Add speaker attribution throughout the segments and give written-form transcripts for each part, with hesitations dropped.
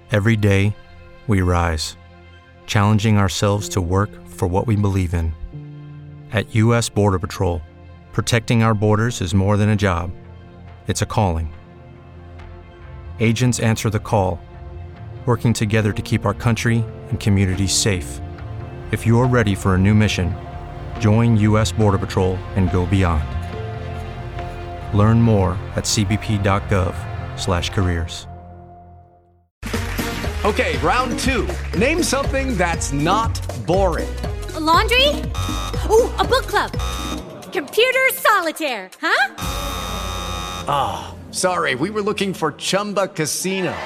Speaker 1: Every day, we rise, challenging ourselves to work for what we believe in. At U.S. Border Patrol, protecting our borders is more than a job. It's a calling. Agents answer the call, working together to keep our country and communities safe. If you're ready for a new mission, join U.S. Border Patrol and go beyond. Learn more at cbp.gov/careers.
Speaker 2: Okay, round two. Name something that's not boring.
Speaker 3: A laundry? Ooh, a book club. Computer solitaire, huh?
Speaker 2: Ah, sorry, we were looking for Chumba Casino.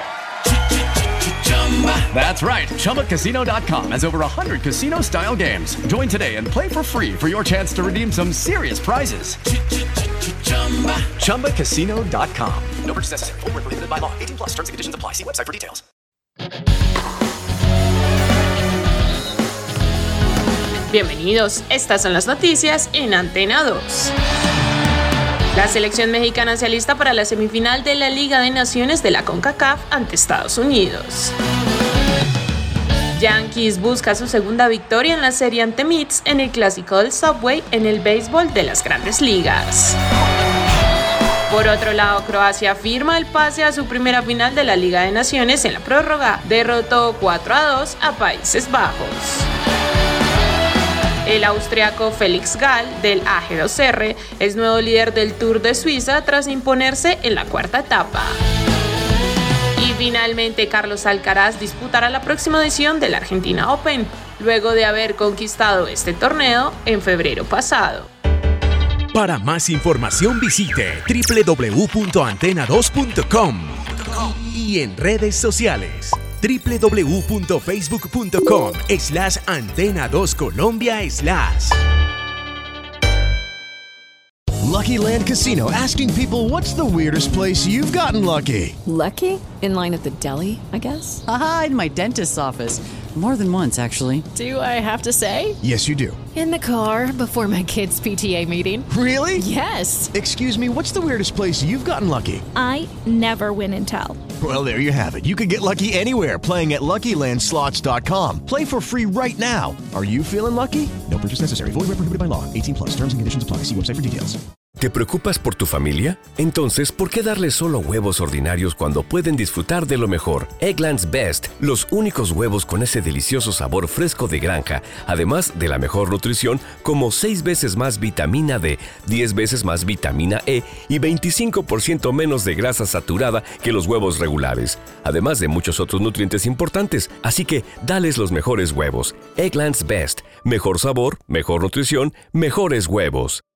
Speaker 2: That's right, ChumbaCasino.com has over 100 casino-style games. Join today and play for free for your chance to redeem some serious prizes. ChumbaCasino.com. No purchase necessary. Void where prohibited by law. 18+. Terms and conditions apply. See website for details.
Speaker 4: Bienvenidos, estas son las noticias en Antena 2. La selección mexicana se alista para la semifinal de la Liga de Naciones de la CONCACAF ante Estados Unidos. Yankees busca su segunda victoria en la serie ante Mets en el clásico del Subway en el béisbol de las Grandes Ligas. Por otro lado, Croacia firma el pase a su primera final de la Liga de Naciones en la prórroga. Derrotó 4-2 a Países Bajos. El austriaco Felix Gall del AG2R es nuevo líder del Tour de Suiza tras imponerse en la cuarta etapa. Y finalmente, Carlos Alcaraz disputará la próxima edición del Argentina Open, luego de haber conquistado este torneo en febrero pasado.
Speaker 5: Para más información visite www.antena2.com y en redes sociales www.facebook.com/Antena2Colombia/.
Speaker 6: Lucky Land Casino, asking people, what's the weirdest place you've gotten lucky?
Speaker 7: Lucky? In line at the deli, I guess?
Speaker 8: Aha, in my dentist's office. More than once, actually.
Speaker 7: Do I have to say?
Speaker 6: Yes, you do.
Speaker 7: In the car before my kids' PTA meeting.
Speaker 6: Really?
Speaker 7: Yes.
Speaker 6: Excuse me, what's the weirdest place you've gotten lucky?
Speaker 9: I never win and tell.
Speaker 6: Well, there you have it. You can get lucky anywhere, playing at LuckyLandSlots.com. Play for free right now. Are you feeling lucky? No purchase necessary. Void where prohibited by law. 18+. Terms and conditions apply. See website for details.
Speaker 10: ¿Te preocupas por tu familia? Entonces, ¿por qué darles solo huevos ordinarios cuando pueden disfrutar de lo mejor? Eggland's Best, los únicos huevos con ese delicioso sabor fresco de granja, además de la mejor nutrición, como 6 veces más vitamina D, 10 veces más vitamina E y 25% menos de grasa saturada que los huevos regulares, además de muchos otros nutrientes importantes. Así que, dales los mejores huevos. Eggland's Best, mejor sabor, mejor nutrición, mejores huevos.